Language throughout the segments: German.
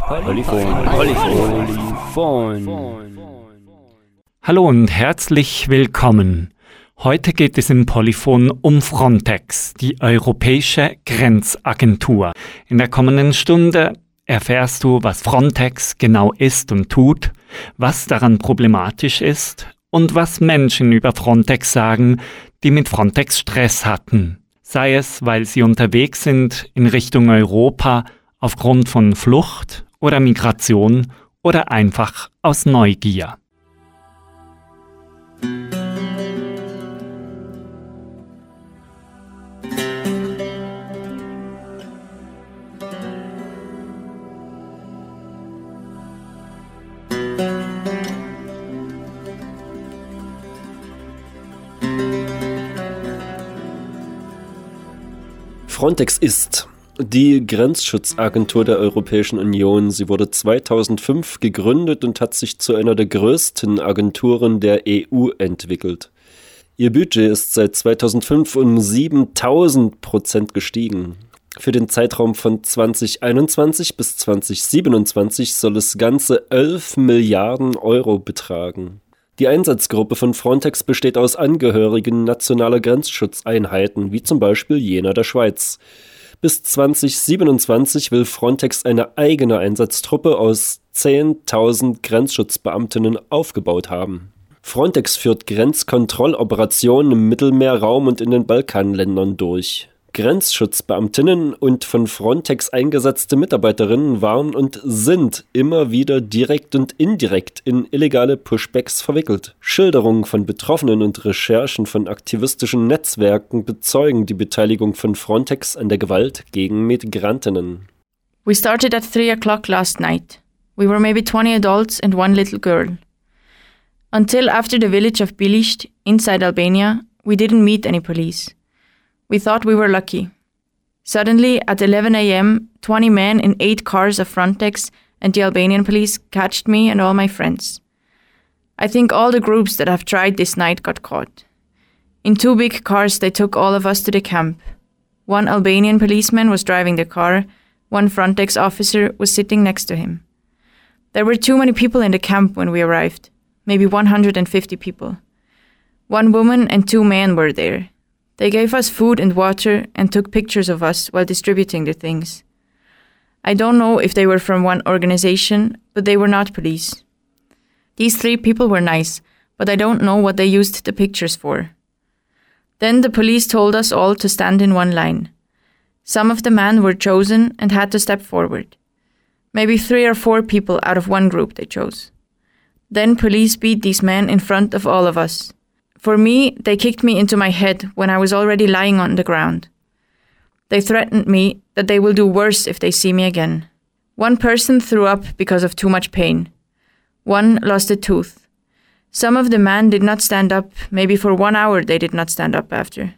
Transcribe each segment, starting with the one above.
Polyphon. Hallo und herzlich willkommen. Heute geht es im Polyphon um Frontex, die Europäische Grenzagentur. In der kommenden Stunde erfährst du, was Frontex genau ist und tut, was daran problematisch ist und was Menschen über Frontex sagen, die mit Frontex Stress hatten. Sei es, weil sie unterwegs sind in Richtung Europa aufgrund von Flucht oder Migration oder einfach aus Neugier. Frontex ist die Grenzschutzagentur der Europäischen Union. Sie wurde 2005 gegründet und hat sich zu einer der größten Agenturen der EU entwickelt. Ihr Budget ist seit 2005 um 7.000% gestiegen. Für den Zeitraum von 2021 bis 2027 soll es ganze 11 Milliarden Euro betragen. Die Einsatzgruppe von Frontex besteht aus Angehörigen nationaler Grenzschutzeinheiten, wie zum Beispiel jener der Schweiz. Bis 2027 will Frontex eine eigene Einsatztruppe aus 10.000 Grenzschutzbeamtinnen aufgebaut haben. Frontex führt Grenzkontrolloperationen im Mittelmeerraum und in den Balkanländern durch. Grenzschutzbeamtinnen und von Frontex eingesetzte Mitarbeiterinnen waren und sind immer wieder direkt und indirekt in illegale Pushbacks verwickelt. Schilderungen von Betroffenen und Recherchen von aktivistischen Netzwerken bezeugen die Beteiligung von Frontex an der Gewalt gegen Migrantinnen. We started at 3 o'clock last night. We were maybe 20 adults and one little girl. Until after the village of Bilisht, inside Albania, we didn't meet any police. We thought we were lucky. Suddenly, at 11 a.m., 20 men in 8 cars of Frontex and the Albanian police catched me and all my friends. I think all the groups that have tried this night got caught. In 2 big cars, they took all of us to the camp. 1 Albanian policeman was driving the car, 1 Frontex officer was sitting next to him. There were too many people in the camp when we arrived, maybe 150 people. 1 woman and 2 men were there. They gave us food and water and took pictures of us while distributing the things. I don't know if they were from one organization, but they were not police. These 3 people were nice, but I don't know what they used the pictures for. Then the police told us all to stand in one line. Some of the men were chosen and had to step forward. Maybe 3 or 4 people out of one group they chose. Then police beat these men in front of all of us. For me, they kicked me into my head when I was already lying on the ground. They threatened me that they will do worse if they see me again. 1 person threw up because of too much pain. 1 lost a tooth. Some of the men did not stand up, maybe for 1 hour they did not stand up after.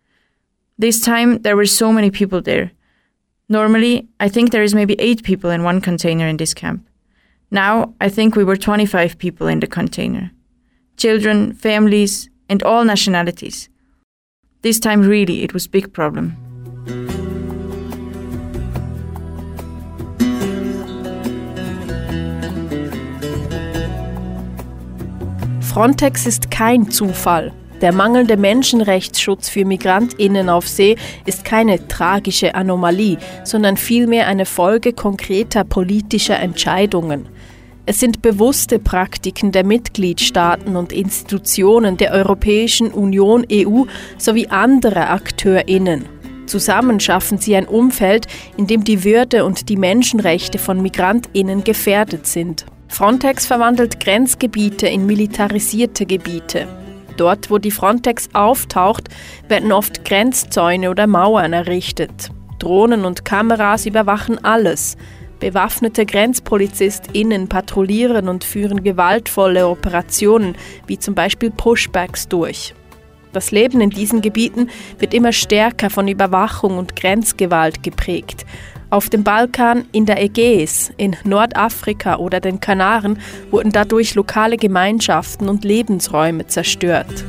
This time, there were so many people there. Normally, I think there is maybe 8 people in one container in this camp. Now, I think we were 25 people in the container. Children, families, and all nationalities. This time really it was big problem. Frontex ist kein Zufall. Der mangelnde Menschenrechtsschutz für MigrantInnen auf See ist keine tragische Anomalie, sondern vielmehr eine Folge konkreter politischer Entscheidungen. Es sind bewusste Praktiken der Mitgliedstaaten und Institutionen der Europäischen Union EU sowie anderer AkteurInnen. Zusammen schaffen sie ein Umfeld, in dem die Würde und die Menschenrechte von MigrantInnen gefährdet sind. Frontex verwandelt Grenzgebiete in militarisierte Gebiete. Dort, wo die Frontex auftaucht, werden oft Grenzzäune oder Mauern errichtet. Drohnen und Kameras überwachen alles. Bewaffnete GrenzpolizistInnen patrouillieren und führen gewaltvolle Operationen, wie zum Beispiel Pushbacks, durch. Das Leben in diesen Gebieten wird immer stärker von Überwachung und Grenzgewalt geprägt. Auf dem Balkan, in der Ägäis, in Nordafrika oder den Kanaren wurden dadurch lokale Gemeinschaften und Lebensräume zerstört.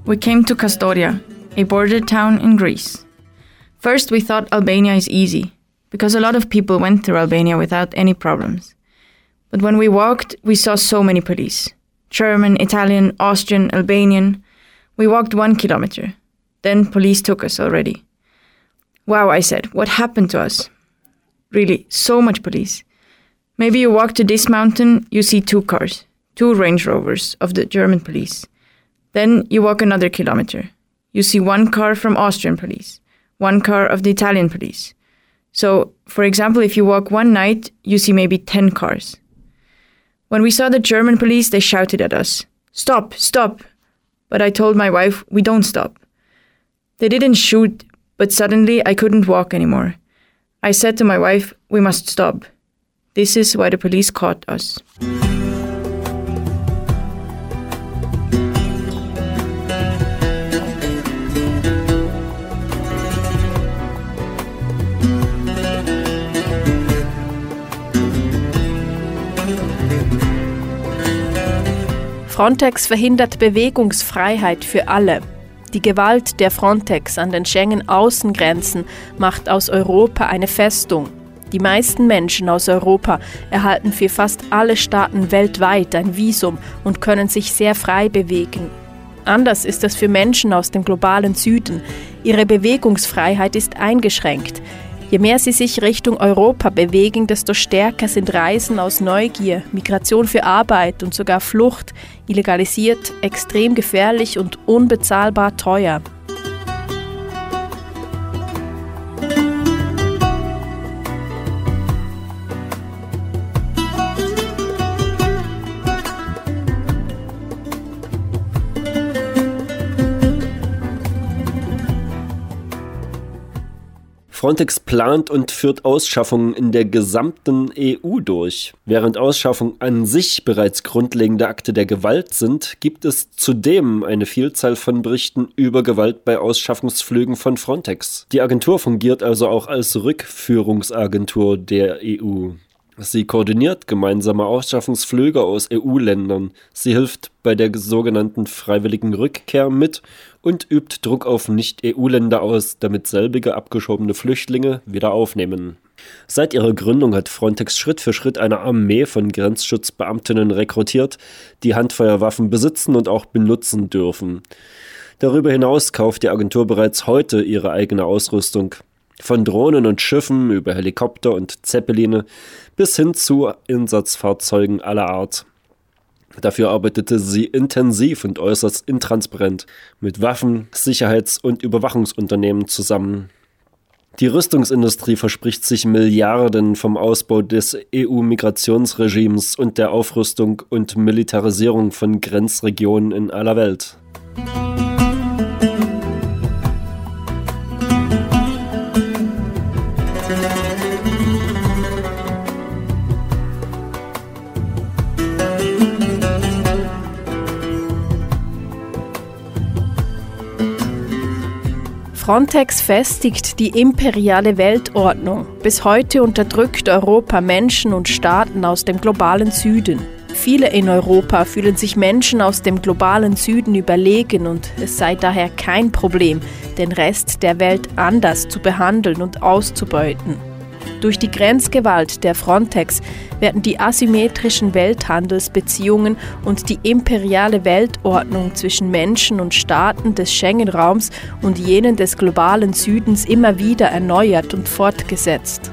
We came to Kastoria, a border town in Greece. First, we thought Albania is easy, because a lot of people went through Albania without any problems. But when we walked, we saw so many police. German, Italian, Austrian, Albanian. We walked 1 kilometer. Then police took us already. Wow, I said, what happened to us? Really, so much police. Maybe you walk to this mountain, you see 2 cars, 2 Range Rovers of the German police. Then you walk another kilometer. You see 1 car from Austrian police, 1 car of the Italian police. So, for example, if you walk one night, you see maybe 10 cars. When we saw the German police, they shouted at us, "Stop, stop!" But I told my wife, we don't stop. They didn't shoot, but suddenly I couldn't walk anymore. I said to my wife, we must stop. This is why the police caught us. Frontex verhindert Bewegungsfreiheit für alle. Die Gewalt der Frontex an den Schengen-Außengrenzen macht aus Europa eine Festung. Die meisten Menschen aus Europa erhalten für fast alle Staaten weltweit ein Visum und können sich sehr frei bewegen. Anders ist es für Menschen aus dem globalen Süden. Ihre Bewegungsfreiheit ist eingeschränkt. Je mehr sie sich Richtung Europa bewegen, desto stärker sind Reisen aus Neugier, Migration für Arbeit und sogar Flucht, illegalisiert, extrem gefährlich und unbezahlbar teuer. Frontex plant und führt Ausschaffungen in der gesamten EU durch. Während Ausschaffungen an sich bereits grundlegende Akte der Gewalt sind, gibt es zudem eine Vielzahl von Berichten über Gewalt bei Ausschaffungsflügen von Frontex. Die Agentur fungiert also auch als Rückführungsagentur der EU. Sie koordiniert gemeinsame Ausschaffungsflüge aus EU-Ländern. Sie hilft bei der sogenannten freiwilligen Rückkehr mit und übt Druck auf Nicht-EU-Länder aus, damit selbige abgeschobene Flüchtlinge wieder aufnehmen. Seit ihrer Gründung hat Frontex Schritt für Schritt eine Armee von Grenzschutzbeamtinnen rekrutiert, die Handfeuerwaffen besitzen und auch benutzen dürfen. Darüber hinaus kauft die Agentur bereits heute ihre eigene Ausrüstung. Von Drohnen und Schiffen über Helikopter und Zeppeline bis hin zu Einsatzfahrzeugen aller Art. Dafür arbeitete sie intensiv und äußerst intransparent mit Waffen-, Sicherheits- und Überwachungsunternehmen zusammen. Die Rüstungsindustrie verspricht sich Milliarden vom Ausbau des EU-Migrationsregimes und der Aufrüstung und Militarisierung von Grenzregionen in aller Welt. Frontex festigt die imperiale Weltordnung. Bis heute unterdrückt Europa Menschen und Staaten aus dem globalen Süden. Viele in Europa fühlen sich Menschen aus dem globalen Süden überlegen und es sei daher kein Problem, den Rest der Welt anders zu behandeln und auszubeuten. Durch die Grenzgewalt der Frontex werden die asymmetrischen Welthandelsbeziehungen und die imperiale Weltordnung zwischen Menschen und Staaten des Schengen-Raums und jenen des globalen Südens immer wieder erneuert und fortgesetzt.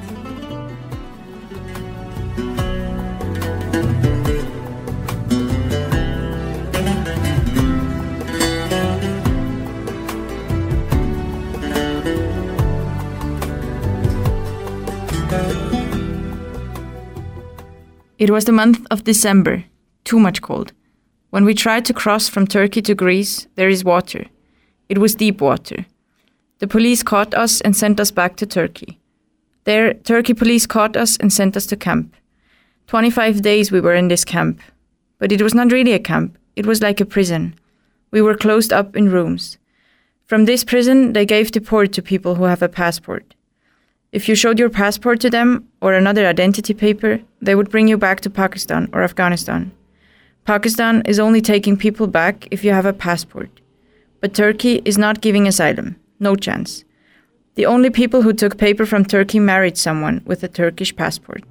It was the month of December, too much cold. When we tried to cross from Turkey to Greece, there is water. It was deep water. The police caught us and sent us back to Turkey. There, Turkey police caught us and sent us to camp. 25 days we were in this camp. But it was not really a camp, it was like a prison. We were closed up in rooms. From this prison, they gave the port to people who have a passport. If you showed your passport to them, or another identity paper, they would bring you back to Pakistan or Afghanistan. Pakistan is only taking people back if you have a passport. But Turkey is not giving asylum. No chance. The only people who took paper from Turkey married someone with a Turkish passport.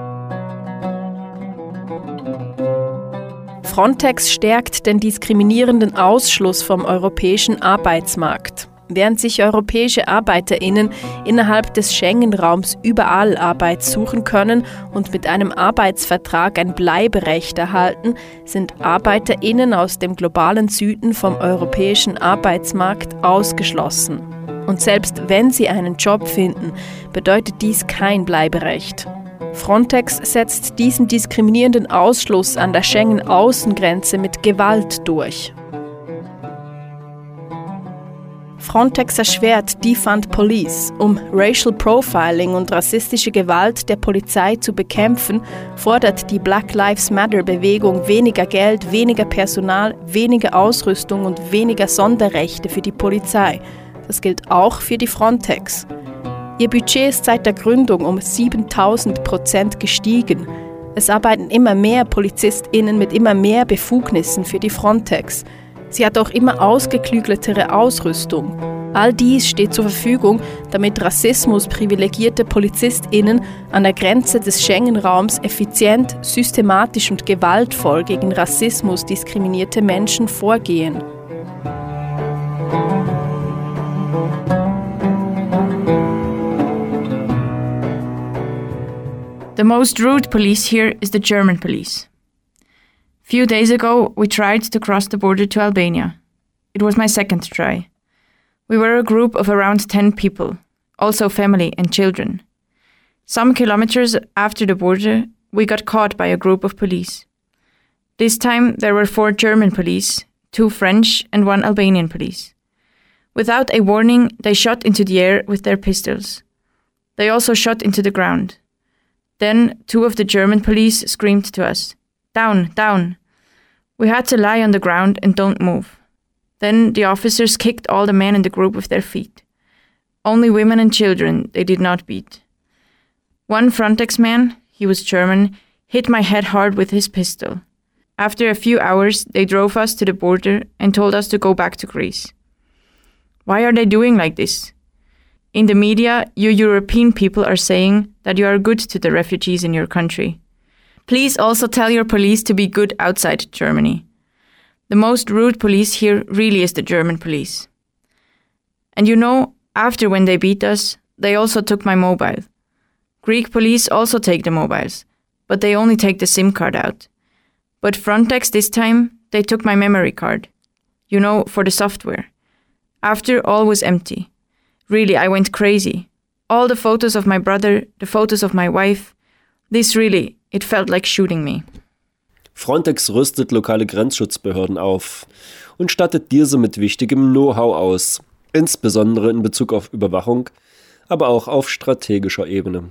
Frontex stärkt den diskriminierenden Ausschluss vom europäischen Arbeitsmarkt. Während sich europäische ArbeiterInnen innerhalb des Schengen-Raums überall Arbeit suchen können und mit einem Arbeitsvertrag ein Bleiberecht erhalten, sind ArbeiterInnen aus dem globalen Süden vom europäischen Arbeitsmarkt ausgeschlossen. Und selbst wenn sie einen Job finden, bedeutet dies kein Bleiberecht. Frontex setzt diesen diskriminierenden Ausschluss an der Schengen-Außengrenze mit Gewalt durch. Frontex erschwert Defund Police. Um Racial Profiling und rassistische Gewalt der Polizei zu bekämpfen, fordert die Black Lives Matter-Bewegung weniger Geld, weniger Personal, weniger Ausrüstung und weniger Sonderrechte für die Polizei. Das gilt auch für die Frontex. Ihr Budget ist seit der Gründung um 7000% gestiegen. Es arbeiten immer mehr PolizistInnen mit immer mehr Befugnissen für die Frontex. Sie hat auch immer ausgeklügeltere Ausrüstung. All dies steht zur Verfügung, damit Rassismus privilegierte PolizistInnen an der Grenze des Schengen-Raums effizient, systematisch und gewaltvoll gegen Rassismus diskriminierte Menschen vorgehen. The most rude police here is the German police. Few days ago, we tried to cross the border to Albania. It was my second try. We were a group of around 10 people, also family and children. Some kilometers after the border, we got caught by a group of police. This time, there were 4 German police, 2 French and 1 Albanian police. Without a warning, they shot into the air with their pistols. They also shot into the ground. Then 2 of the German police screamed to us, "Down, down." We had to lie on the ground and don't move. Then the officers kicked all the men in the group with their feet. Only women and children they did not beat. One Frontex man, he was German, hit my head hard with his pistol. After a few hours, they drove us to the border and told us to go back to Greece. Why are they doing like this? In the media, you European people are saying that you are good to the refugees in your country. Please also tell your police to be good outside Germany. The most rude police here really is the German police. And you know, after when they beat us, they also took my mobile. Greek police also take the mobiles, but they only take the SIM card out. But Frontex this time, they took my memory card. You know, for the software. After, all was empty. Really, I went crazy. All the photos of my brother, the photos of my wife. This really, it felt like shooting me. Frontex rüstet lokale Grenzschutzbehörden auf und stattet diese mit wichtigem Know-how aus, insbesondere in Bezug auf Überwachung, aber auch auf strategischer Ebene.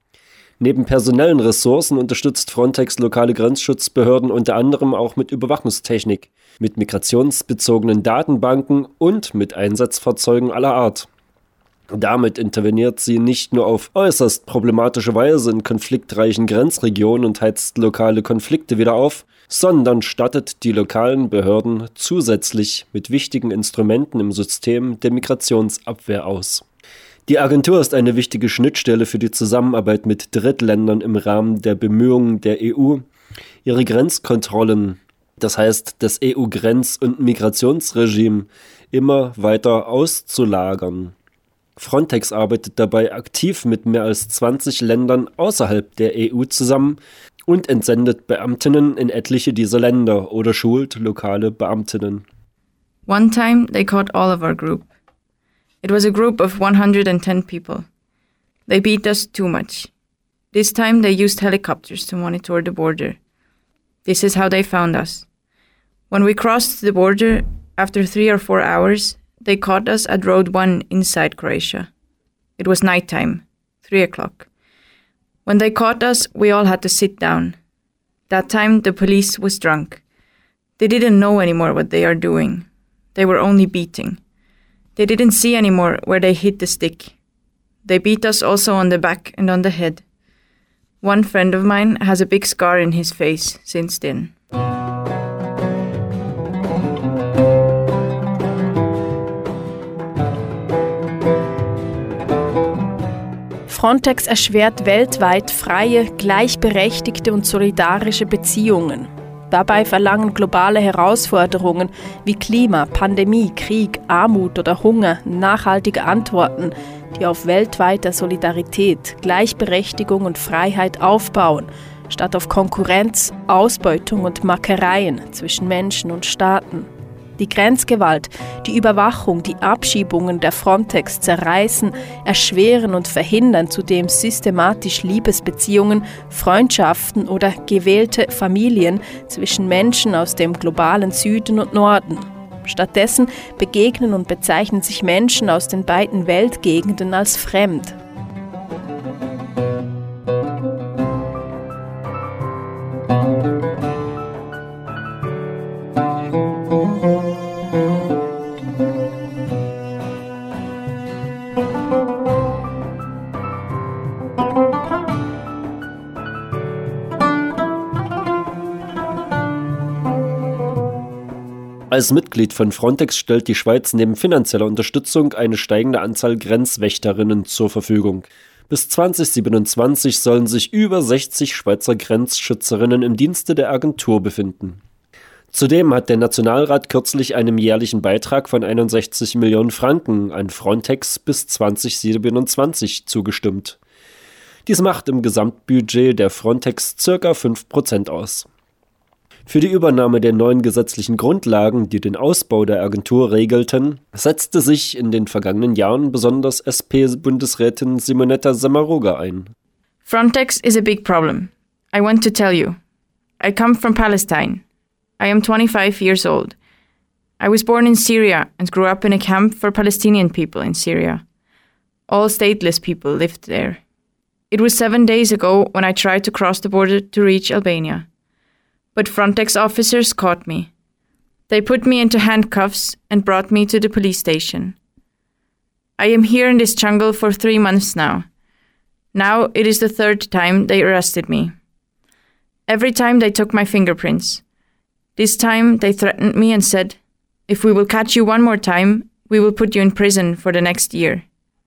Neben personellen Ressourcen unterstützt Frontex lokale Grenzschutzbehörden unter anderem auch mit Überwachungstechnik, mit migrationsbezogenen Datenbanken und mit Einsatzfahrzeugen aller Art. Damit interveniert sie nicht nur auf äußerst problematische Weise in konfliktreichen Grenzregionen und heizt lokale Konflikte wieder auf, sondern stattet die lokalen Behörden zusätzlich mit wichtigen Instrumenten im System der Migrationsabwehr aus. Die Agentur ist eine wichtige Schnittstelle für die Zusammenarbeit mit Drittländern im Rahmen der Bemühungen der EU, ihre Grenzkontrollen, das heißt das EU-Grenz- und Migrationsregime, immer weiter auszulagern. Frontex arbeitet dabei aktiv mit mehr als 20 Ländern außerhalb der EU zusammen und entsendet Beamtinnen in etliche dieser Länder oder schult lokale Beamtinnen. One time they caught all of our group. It was a group of 110 people. They beat us too much. This time they used helicopters to monitor the border. This is how they found us. When we crossed the border, after 3 or 4 hours, they caught us at Road 1 inside Croatia. It was nighttime, 3 o'clock. When they caught us, we all had to sit down. That time the police was drunk. They didn't know anymore what they are doing. They were only beating. They didn't see anymore where they hit the stick. They beat us also on the back and on the head. One friend of mine has a big scar in his face since then. Frontex erschwert weltweit freie, gleichberechtigte und solidarische Beziehungen. Dabei verlangen globale Herausforderungen wie Klima, Pandemie, Krieg, Armut oder Hunger nachhaltige Antworten, die auf weltweiter Solidarität, Gleichberechtigung und Freiheit aufbauen, statt auf Konkurrenz, Ausbeutung und Mackereien zwischen Menschen und Staaten. Die Grenzgewalt, die Überwachung, die Abschiebungen der Frontex zerreißen, erschweren und verhindern zudem systematisch Liebesbeziehungen, Freundschaften oder gewählte Familien zwischen Menschen aus dem globalen Süden und Norden. Stattdessen begegnen und bezeichnen sich Menschen aus den beiden Weltgegenden als fremd. Als Mitglied von Frontex stellt die Schweiz neben finanzieller Unterstützung eine steigende Anzahl Grenzwächterinnen zur Verfügung. Bis 2027 sollen sich über 60 Schweizer Grenzschützerinnen im Dienste der Agentur befinden. Zudem hat der Nationalrat kürzlich einem jährlichen Beitrag von 61 Millionen Franken an Frontex bis 2027 zugestimmt. Dies macht im Gesamtbudget der Frontex ca. 5% aus. Für die Übernahme der neuen gesetzlichen Grundlagen, die den Ausbau der Agentur regelten, setzte sich in den vergangenen Jahren besonders SP-Bundesrätin Simonetta Sommaruga ein. Frontex is a big problem. I want to tell you. I come from Palestine. I am 25 years old. I was born in Syria and grew up in a camp for Palestinian people in Syria. All stateless people lived there. It was 7 days ago when I tried to cross the border to reach Albania. But Frontex officers caught me. They put me into handcuffs and brought me to the police station. I am here in this jungle for 3 months now. Now it is the 3rd time they arrested me. Every time they took my fingerprints. This time they threatened me and said, "If we will catch you one more time, we will put you in prison for the next year."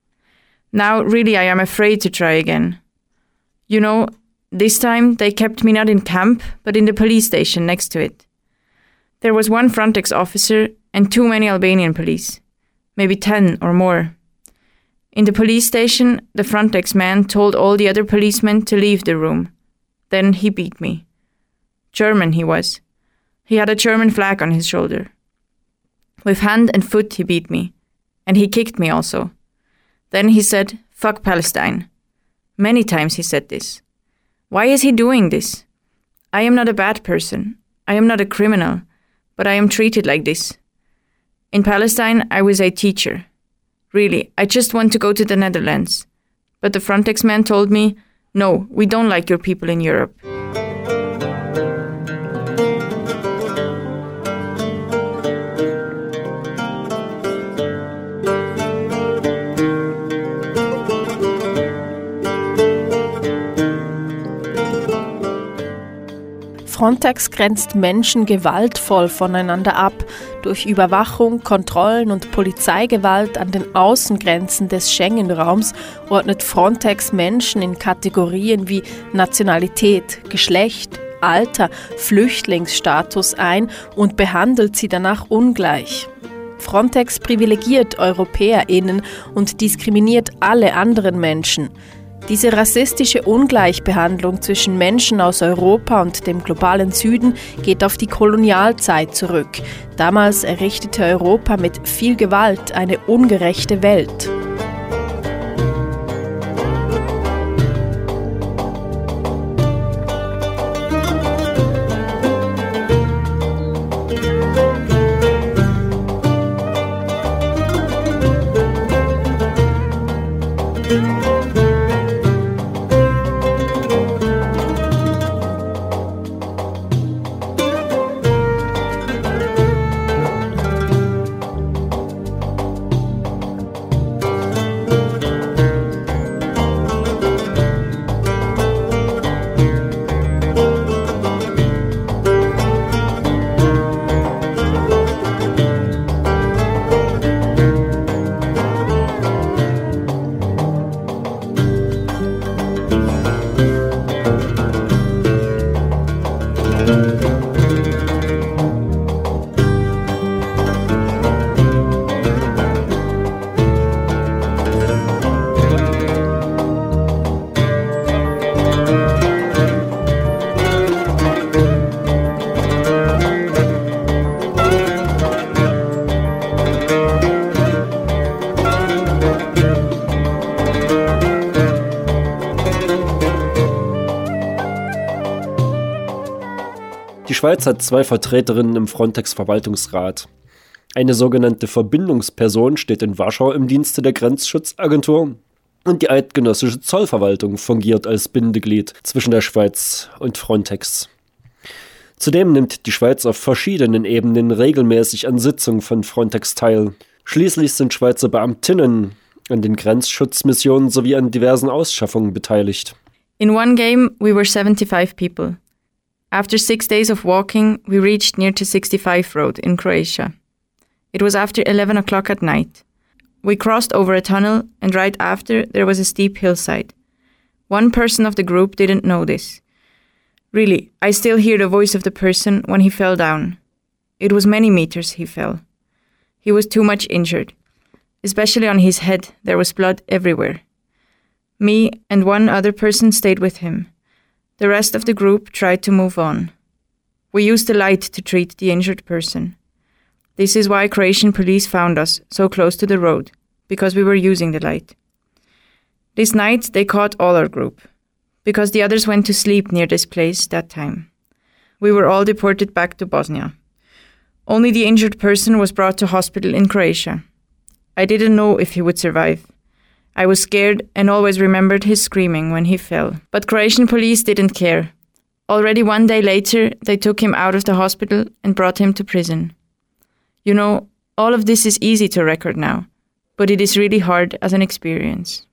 Now really I am afraid to try again. You know, this time they kept me not in camp, but in the police station next to it. There was one Frontex officer and too many Albanian police, maybe 10 or more. In the police station, the Frontex man told all the other policemen to leave the room. Then he beat me. German he was. He had a German flag on his shoulder. With hand and foot he beat me. And he kicked me also. Then he said, "Fuck Palestine." Many times he said this. Why is he doing this? I am not a bad person. I am not a criminal. But I am treated like this. In Palestine, I was a teacher. Really, I just want to go to the Netherlands. But the Frontex man told me, "No, we don't like your people in Europe." Frontex grenzt Menschen gewaltvoll voneinander ab. Durch Überwachung, Kontrollen und Polizeigewalt an den Außengrenzen des Schengen-Raums ordnet Frontex Menschen in Kategorien wie Nationalität, Geschlecht, Alter, Flüchtlingsstatus ein und behandelt sie danach ungleich. Frontex privilegiert EuropäerInnen und diskriminiert alle anderen Menschen. Diese rassistische Ungleichbehandlung zwischen Menschen aus Europa und dem globalen Süden geht auf die Kolonialzeit zurück. Damals errichtete Europa mit viel Gewalt eine ungerechte Welt. Die Schweiz hat 2 Vertreterinnen im Frontex-Verwaltungsrat. Eine sogenannte Verbindungsperson steht in Warschau im Dienste der Grenzschutzagentur und die eidgenössische Zollverwaltung fungiert als Bindeglied zwischen der Schweiz und Frontex. Zudem nimmt die Schweiz auf verschiedenen Ebenen regelmäßig an Sitzungen von Frontex teil. Schließlich sind Schweizer Beamtinnen an den Grenzschutzmissionen sowie an diversen Ausschaffungen beteiligt. In one game, we were 75 people. After 6 days of walking, we reached near to 65 Road in Croatia. It was after 11 o'clock at night. We crossed over a tunnel, and right after, there was a steep hillside. One person of the group didn't know this. Really, I still hear the voice of the person when he fell down. It was many meters he fell. He was too much injured. Especially on his head, there was blood everywhere. Me and one other person stayed with him. The rest of the group tried to move on. We used the light to treat the injured person. This is why Croatian police found us so close to the road, because we were using the light. This night they caught all our group, because the others went to sleep near this place that time. We were all deported back to Bosnia. Only the injured person was brought to hospital in Croatia. I didn't know if he would survive. I was scared and always remembered his screaming when he fell. But Croatian police didn't care. Already 1 day later, they took him out of the hospital and brought him to prison. You know, all of this is easy to record now, but it is really hard as an experience.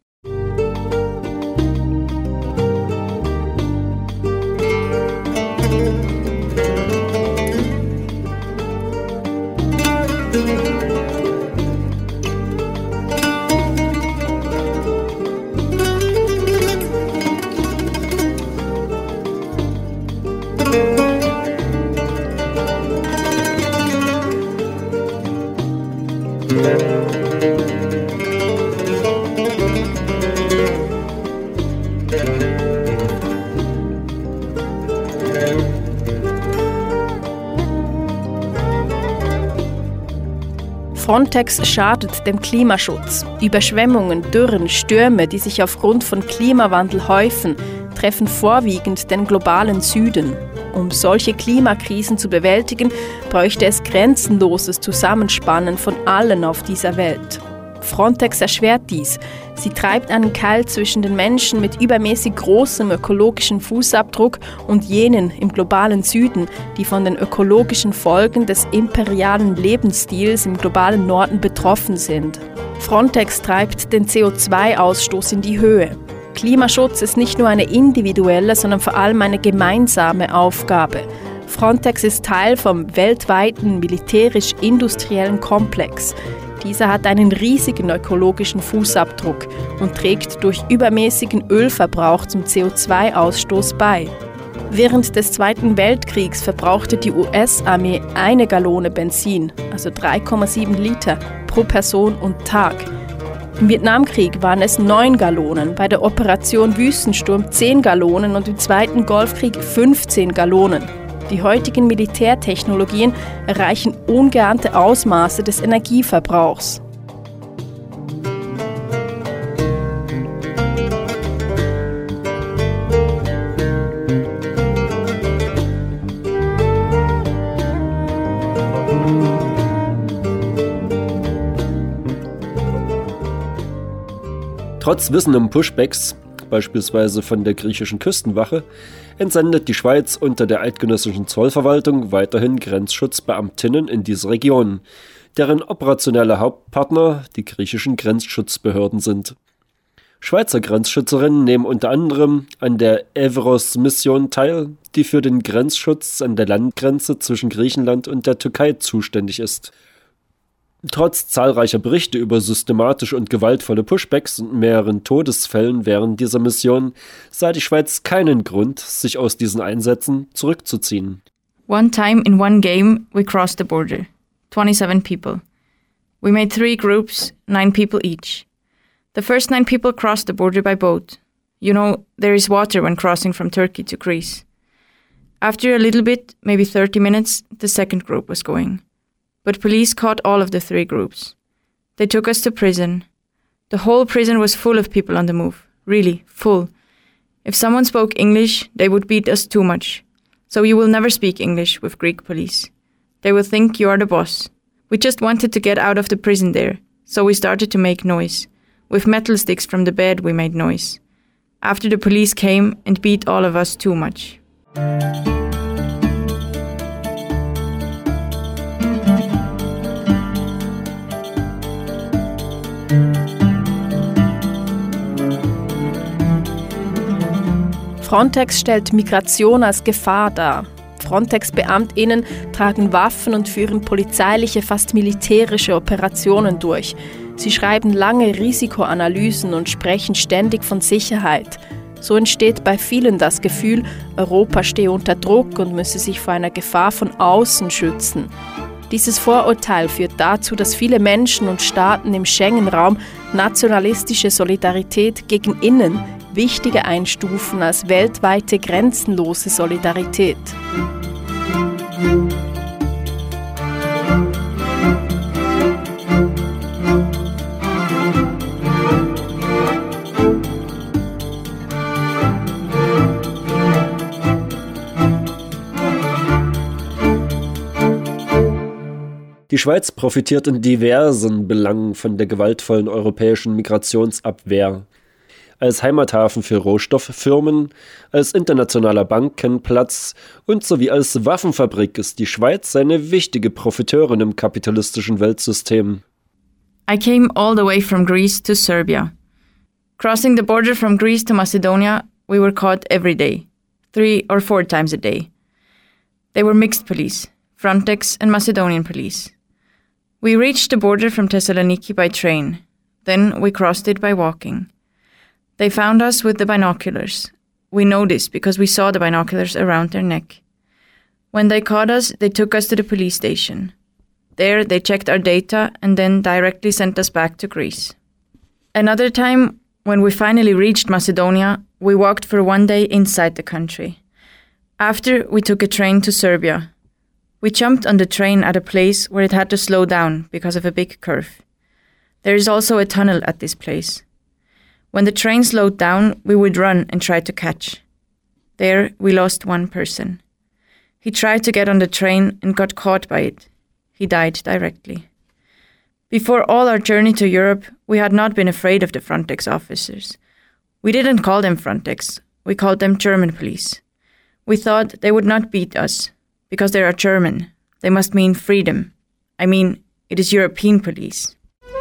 Frontex schadet dem Klimaschutz. Überschwemmungen, Dürren, Stürme, die sich aufgrund von Klimawandel häufen, treffen vorwiegend den globalen Süden. Um solche Klimakrisen zu bewältigen, bräuchte es grenzenloses Zusammenspannen von allen auf dieser Welt. Frontex erschwert dies. Sie treibt einen Keil zwischen den Menschen mit übermäßig großem ökologischen Fußabdruck und jenen im globalen Süden, die von den ökologischen Folgen des imperialen Lebensstils im globalen Norden betroffen sind. Frontex treibt den CO2-Ausstoß in die Höhe. Klimaschutz ist nicht nur eine individuelle, sondern vor allem eine gemeinsame Aufgabe. Frontex ist Teil vom weltweiten militärisch-industriellen Komplex. Dieser hat einen riesigen ökologischen Fußabdruck und trägt durch übermäßigen Ölverbrauch zum CO2-Ausstoß bei. Während des Zweiten Weltkriegs verbrauchte die US-Armee 1 Gallone Benzin, also 3,7 Liter, pro Person und Tag. Im Vietnamkrieg waren es 9 Gallonen, bei der Operation Wüstensturm 10 Gallonen und im Zweiten Golfkrieg 15 Gallonen. Die heutigen Militärtechnologien erreichen ungeahnte Ausmaße des Energieverbrauchs. Trotz Wissen um Pushbacks, beispielsweise von der griechischen Küstenwache, entsendet die Schweiz unter der eidgenössischen Zollverwaltung weiterhin Grenzschutzbeamtinnen in diese Region, deren operationelle Hauptpartner die griechischen Grenzschutzbehörden sind. Schweizer Grenzschützerinnen nehmen unter anderem an der Evros-Mission teil, die für den Grenzschutz an der Landgrenze zwischen Griechenland und der Türkei zuständig ist. Trotz zahlreicher Berichte über systematische und gewaltvolle Pushbacks und mehreren Todesfällen während dieser Mission sah die Schweiz keinen Grund, sich aus diesen Einsätzen zurückzuziehen. One time in one game, we crossed the border. 27 people. We made 3 groups, 9 people each. The first 9 people crossed the border by boat. You know, there is water when crossing from Turkey to Greece. After a little bit, maybe 30 minutes, the second group was going. But police caught all of the 3 groups. They took us to prison. The whole prison was full of people on the move. Really, full. If someone spoke English, they would beat us too much. So you will never speak English with Greek police. They will think you are the boss. We just wanted to get out of the prison there, so we started to make noise. With metal sticks from the bed we made noise. After the police came and beat all of us too much. Frontex stellt Migration als Gefahr dar. Frontex-BeamtInnen tragen Waffen und führen polizeiliche, fast militärische Operationen durch. Sie schreiben lange Risikoanalysen und sprechen ständig von Sicherheit. So entsteht bei vielen das Gefühl, Europa stehe unter Druck und müsse sich vor einer Gefahr von außen schützen. Dieses Vorurteil führt dazu, dass viele Menschen und Staaten im Schengen-Raum nationalistische Solidarität gegen innen wichtiger einstufen als weltweite grenzenlose Solidarität. Die Schweiz profitiert in diversen Belangen von der gewaltvollen europäischen Migrationsabwehr. Als Heimathafen für Rohstofffirmen, als internationaler Bankenplatz und sowie als Waffenfabrik ist die Schweiz eine wichtige Profiteurin im kapitalistischen Weltsystem. I came all the way from Greece to Serbia. Crossing the border from Greece to Macedonia, we were caught every day, 3 or 4 times a day. They were mixed police, Frontex and Macedonian police. We reached the border from Thessaloniki by train, then we crossed it by walking. They found us with the binoculars. We know this because we saw the binoculars around their neck. When they caught us, they took us to the police station. There, they checked our data and then directly sent us back to Greece. Another time, when we finally reached Macedonia, we walked for 1 day inside the country. After, we took a train to Serbia. We jumped on the train at a place where it had to slow down because of a big curve. There is also a tunnel at this place. When the train slowed down, we would run and try to catch. There, we lost 1 person. He tried to get on the train and got caught by it. He died directly. Before all our journey to Europe, we had not been afraid of the Frontex officers. We didn't call them Frontex. We called them German police. We thought they would not beat us, because they are German. They must mean freedom. I mean, it is European police.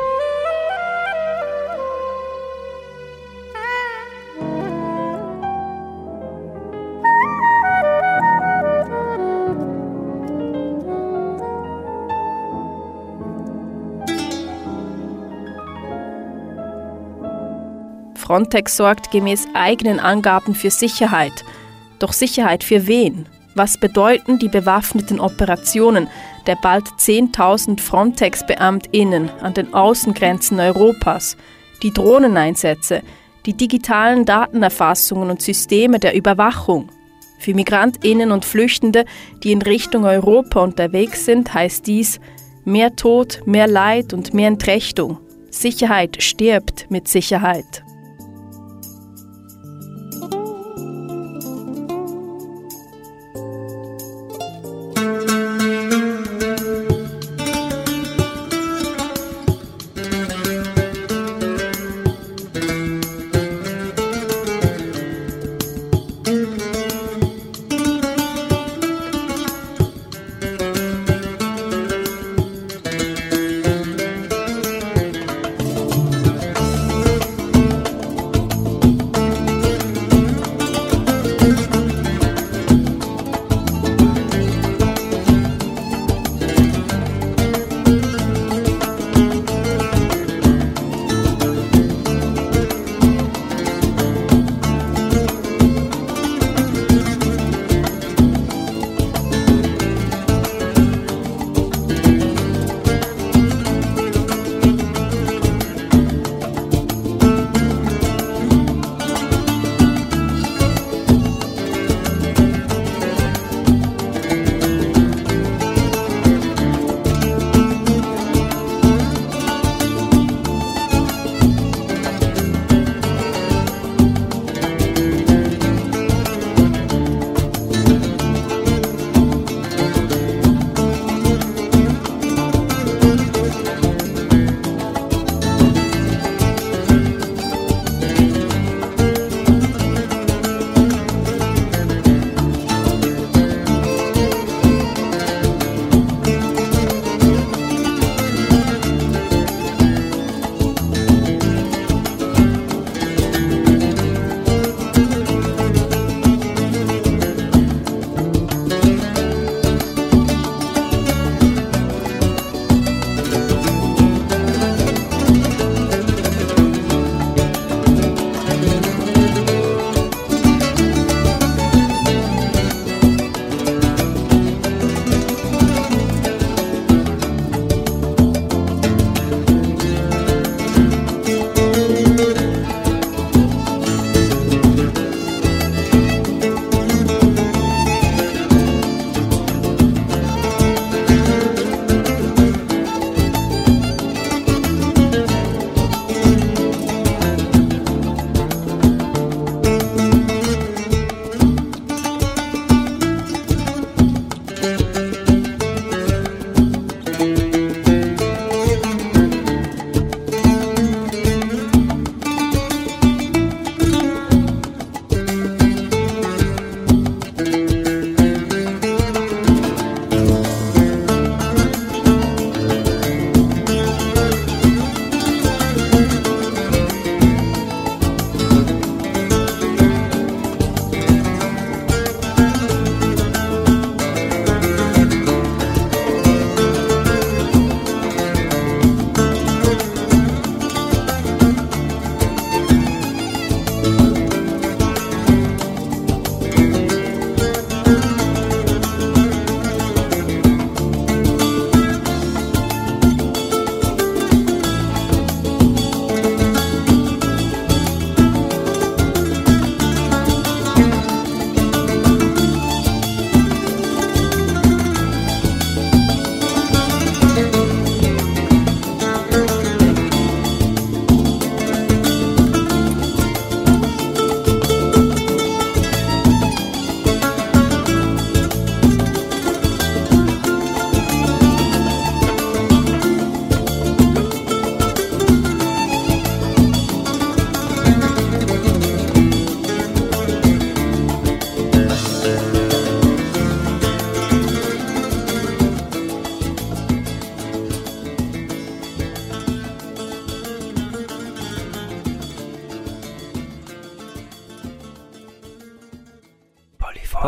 Frontex sorgt gemäß eigenen Angaben für Sicherheit. Doch Sicherheit für wen? Was bedeuten die bewaffneten Operationen der bald 10.000 Frontex-BeamtInnen an den Außengrenzen Europas, die Drohneneinsätze, die digitalen Datenerfassungen und Systeme der Überwachung? Für MigrantInnen und Flüchtende, die in Richtung Europa unterwegs sind, heißt dies mehr Tod, mehr Leid und mehr Entrechtung. Sicherheit stirbt mit Sicherheit.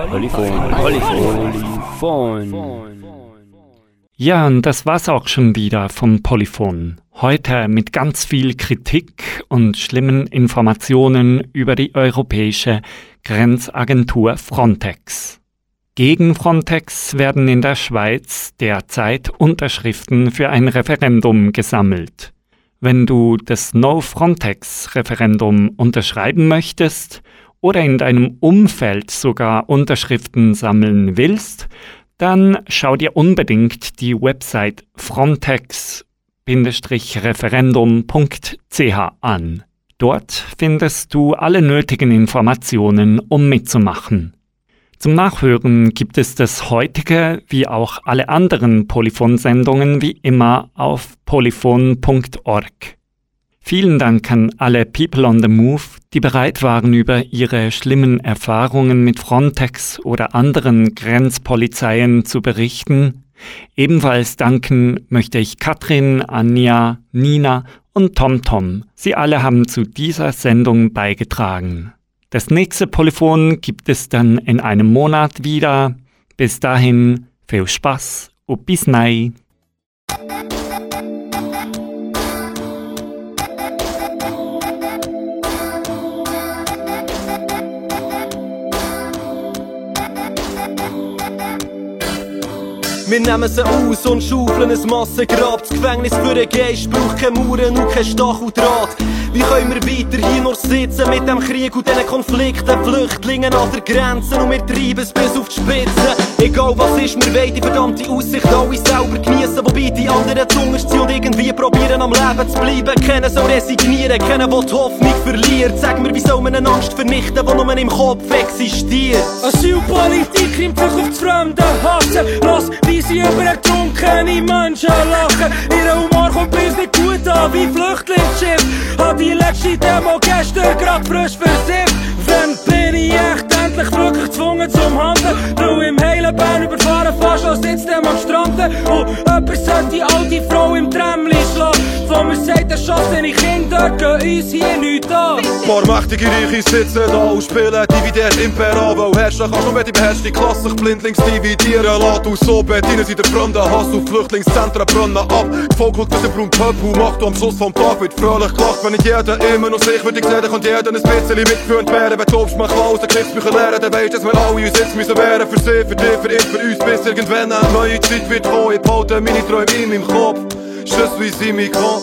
Ja, und das war's auch schon wieder vom Polyphon. Heute mit ganz viel Kritik und schlimmen Informationen über die europäische Grenzagentur Frontex. Gegen Frontex werden in der Schweiz derzeit Unterschriften für ein Referendum gesammelt. Wenn du das No-Frontex-Referendum unterschreiben möchtest oder in deinem Umfeld sogar Unterschriften sammeln willst, dann schau dir unbedingt die Website frontex-referendum.ch an. Dort findest du alle nötigen Informationen, um mitzumachen. Zum Nachhören gibt es das heutige wie auch alle anderen Polyphon-Sendungen wie immer auf polyphon.org. Vielen Dank an alle People on the Move, die bereit waren, über ihre schlimmen Erfahrungen mit Frontex oder anderen Grenzpolizeien zu berichten. Ebenfalls danken möchte ich Katrin, Anja, Nina und TomTom. Sie alle haben zu dieser Sendung beigetragen. Das nächste Polyphon gibt es dann in einem Monat wieder. Bis dahin, viel Spaß und bis nei. Wir nehmen sie aus und schaufeln ein Massengrab. Das Gefängnis für den Geist braucht keine Mauern und kein Stacheldraht. Wie können wir weiter hier nur sitzen mit dem Krieg und diesen Konflikten, Flüchtlingen an der Grenze und wir treiben es bis auf die Spitze. Egal was ist, wir wollen die verdammte Aussicht alle selber geniessen, wobei die anderen zuunterst sind und irgendwie probieren am Leben zu bleiben. Keiner soll resignieren, keiner will die Hoffnung verlieren. Sag mir, wie soll man eine Angst vernichten, die nur im Kopf existiert? Asylpolitik nimmt sich auf das fremde Hassen. Lass, wie sie über ertrunkene Menschen lachen. Ihr Humor kommt bei uns nicht gut an, wie Flüchtlingsschiff. Hat die letzte Demo gestern grad frisch versifft. Wenn bin ich echt endlich wirklich gezwungen zum Handeln. Weil im heilen Bern überfahren fast als sitzt dem am Stranden. Und jemand sollte die alte Frau im Tramli schlagen. Von mir sagt, erschossene Kinder gehen uns hier nichts an. Paar mächtige Reiche sitzen da und spielen Dividend Impera. Weil herrschen kannst, nur wenn die beherrschte Klasse sich blindlings dividieren lässt. Und so bedienen sie den fremden Hass auf Flüchtlingszentren brennen ab. Gefolgt durch den braunen Pöppel macht und am Schluss vom Tag wird fröhlich gelacht. Wenn nicht jeder immer noch sich würde sehen, dann kann jeder ein bisschen mitgeführt werden. Wenn du glaubst, man kann aus den Geschichtsbüchern lernen, dann weisst, dass wir alle uns jetzt müssen wehren. Für sie, für dich, für ihn, für uns, bis irgendwann eine neue Zeit wird kommen. Ich behalte meine Träume in meinem Kopf. Je suis immigrant.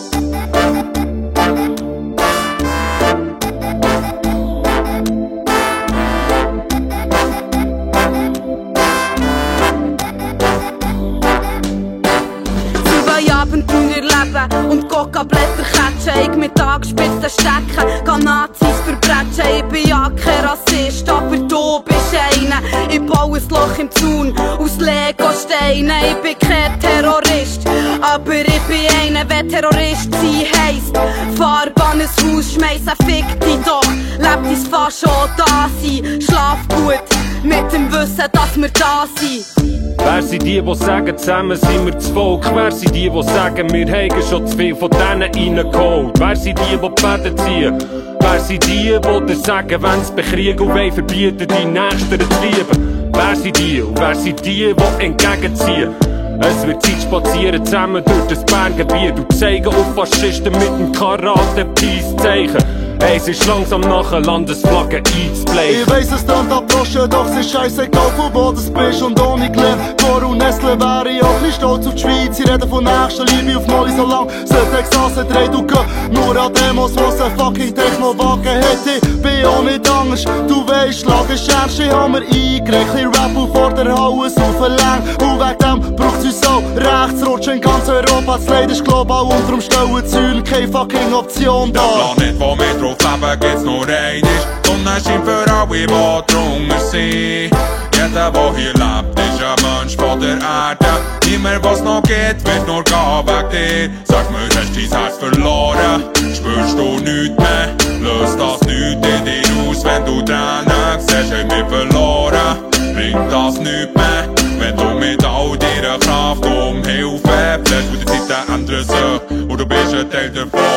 Und Coca-Blätter catchen, ich mit angespitzten Stecken kann Nazis verbrechen. Ich bin ja kein Rassist, aber du bist einer. Ich baue ein Loch im Zaun aus Lego-Steinen. Ich bin kein Terrorist, aber ich bin einer. Wer Terrorist sein heisst, Farbe an ein Haus schmeissen, fick dich doch. Lebt ins Fass schon da sein, schlaf gut mit dem Wissen, dass wir da sind. Wer sind die sagen, zusammen sind wir das Volk? Wer sind die sagen, wir haben schon zu viel von denen reingeholt? Wer sind die Fäden ziehen? Wer sind die dir sagen, wenn sie bekriegen und wollen verbieten, die Nächsten zu lieben? Wer sind die und wer sind die entgegenziehen? Es wird Zeit spazieren zusammen durch das Berngebiet und zeigen auf Faschisten mit dem Karate-Peace-Zeichen. Es ist langsam nach einer Landesflagge einzubleichen. Ich weiss, es klingt abdroschen, doch es ist scheissegal, von wo du bist und ohne Glück. Vor und Nestle wäre ich auch nicht stolz auf die Schweiz. Sie reden von Nächstenliebe auf Molly so lang. Sollte Exasse dreht und gehen, nur an Demos, wo es ein fucking Techno-Wagen hätte. Ich bin auch nicht anders, du weisst, Lage ist ernst. Ich hab mir eingereicht, ein Rap und vor der Halle saufen und wegen dem braucht's uns auch Rechtsrutsch in ganz Europa. Das Leid ist global und darum stellen Zäune keine fucking Option da. Der Planet, wo wir drauf leben, geht's nur einmal. Die Sonne scheint für alle, die drunter sind. Jeder, der hier lebt, ist ein Mensch von der Erde. Immer was noch geht, wird nur gehen wegen dir. Sag mir, hast du dein Herz verloren? Spürst du nichts mehr? Löst das nichts in dir aus, wenn du Tränen siehst, haben wir verloren. Bringt das nichts mehr, wenn du mit all deiner Kraft um Hilfe flehst. Und die Zeiten ändern sich und du bist ein Teil davon.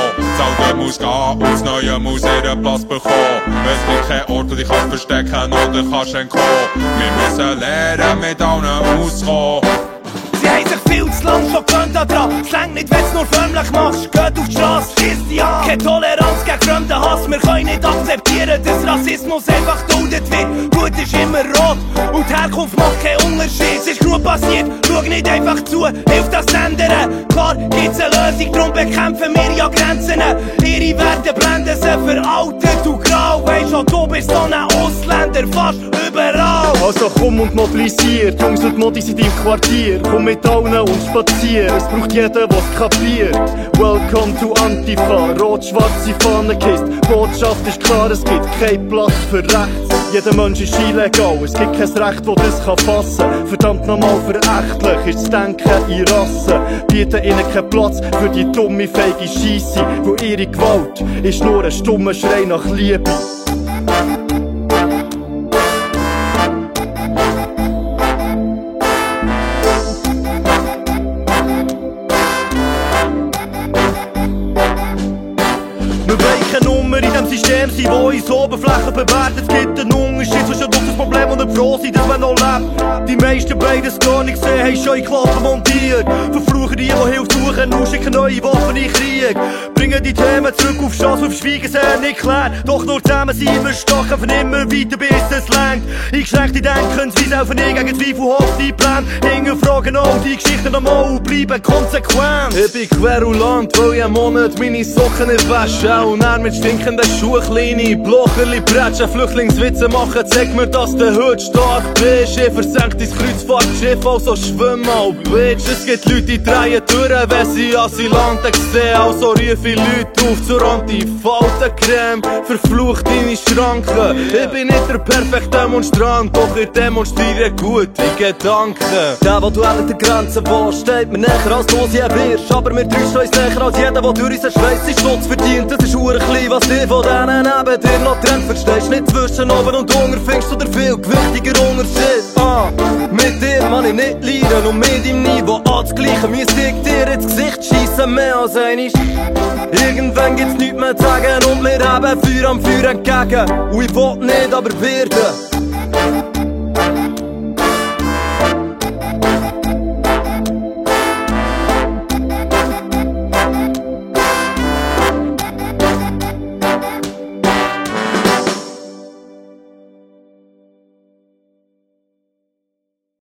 Alte muss gehen, aufs Neue muss ihren Platz bekommen. Es gibt keinen Ort, wo dich kannst verstecken oder kannst entkommen. Wir müssen lernen, mit allen auszukommen. Sie haben sich viel zu lang schon gewöhnt daran. Es reicht nicht, wenn du nur förmlich machst. Geht auf die Strasse, schießt dich an. Keine Toleranz gegen fremden Hass. Wir können nicht akzeptieren, dass Rassismus einfach duldet wird. Blut ist immer rot und die Herkunft macht keinen Unterschied. Es ist genug passiert, schau nicht einfach zu, hilft das ändern. Klar gibt's eine Lösung, darum bekämpfen wir ja Grenzen. Ihre Werte blenden sie veraltet und grau. Weisst schon, du bist so ein Ausländer, fast überall. Also komm und mobilisier, die Jungs und Modis in deinem Quartier. Komm mit allen und spazier, es braucht jeder, der's kapiert. Welcome to Antifa, rot-schwarze Fahne kisst. Botschaft ist klar, es gibt keinen Platz für rechts. Jeder Mensch ist illegal, es gibt kein Recht, das das fassen kann. Verdammt nochmal verächtlich ist das Denken in Rassen. Bieten ihnen keinen Platz für die dumme, feige Scheisse. Wo ihre Gewalt ist nur ein stummer Schrei nach Liebe. System sind, wo uns Oberflächen bewertet. Es gibt einen Unterschied zwischen Luxusproblem und einem Froh sein, dass man noch lebt. Die meisten beides gar nicht gesehen, haben schon in Klappen montiert. Verfluchen die Hilfe suchen und schicken neue Waffen in Krieg. Bringen die Themen zurück auf Strasse, auf Schweigen sehr nicht klar. Doch nur zusammen sind wir stark, von immer weiter bis es längt. Eingeschränkte Denkensweise, auch nie gegen zweifelhafte Pläne. Hinterfragen auch die Geschichten nochmal und bleiben konsequent. Ich bin querulant, weil ich einen Monat meine Socken nicht wasche. Und er mit stinkenden Schuhe, kleine Blocherli prätschen, Flüchtlingswitze machen, zeig mir, dass du heute stark bist. Ich versenk dein Kreuzfahrtschiff, also schwimm mal, Bitch. Es gibt Leute, die drehen durch, wenn sie Asylanten sehen. Also rufe ich Leute auf zur Antifaltencreme, verflucht deine Schranken. Ich bin nicht der perfekte Demonstrant, doch ich demonstriere gute Gedanken. Der, der du an der Grenze warst, steht mir näher als du je wirst. Aber wir täuschen uns näher als jeder, der durch unseren Schweiß seinen Schutz verdient. Das ist klein, was dir von denen neben dir noch trennt. Verstehst nicht zwischen oben und unten, findest du der viel gewichtiger Unterschied. Mit dir kann ich nicht leiden und mit deinem Niveau anzugleichen. Müsste ich dir ins Gesicht schiessen, mehr als einig. Irgendwann gibt's nichts mehr zu sagen und wir haben Feuer am Feuer entgegen. Und ich will nicht, aber werde.